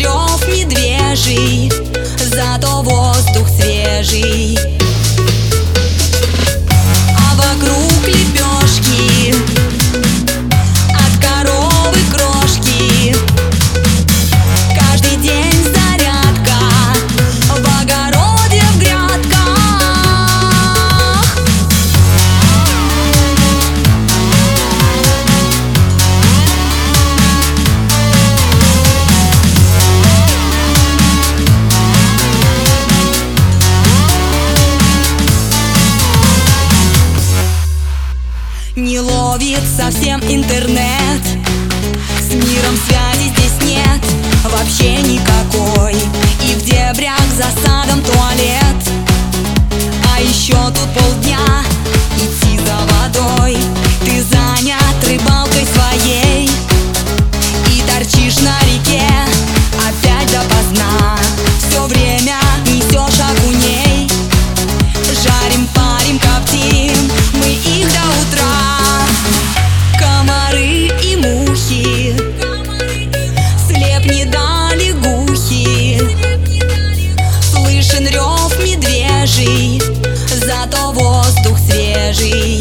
рев медвежий, зато воздух свежий. А вокруг лепешки от коровы крошки. Каждый день зарядка в огороде, в грядках. Не ловит совсем интернет, с миром связи здесь нет вообще никакой. И в дебрях за садом туалет. А еще тут полдня идти за водой. Ты занят рыбалкой своей и торчишь на реке опять допоздна. Все время несешь окуней. Жарим, парим, коптим мы их до утра. Комары и мухи, слеп не дали гухи. Слышен рев медвежий, зато воздух свежий.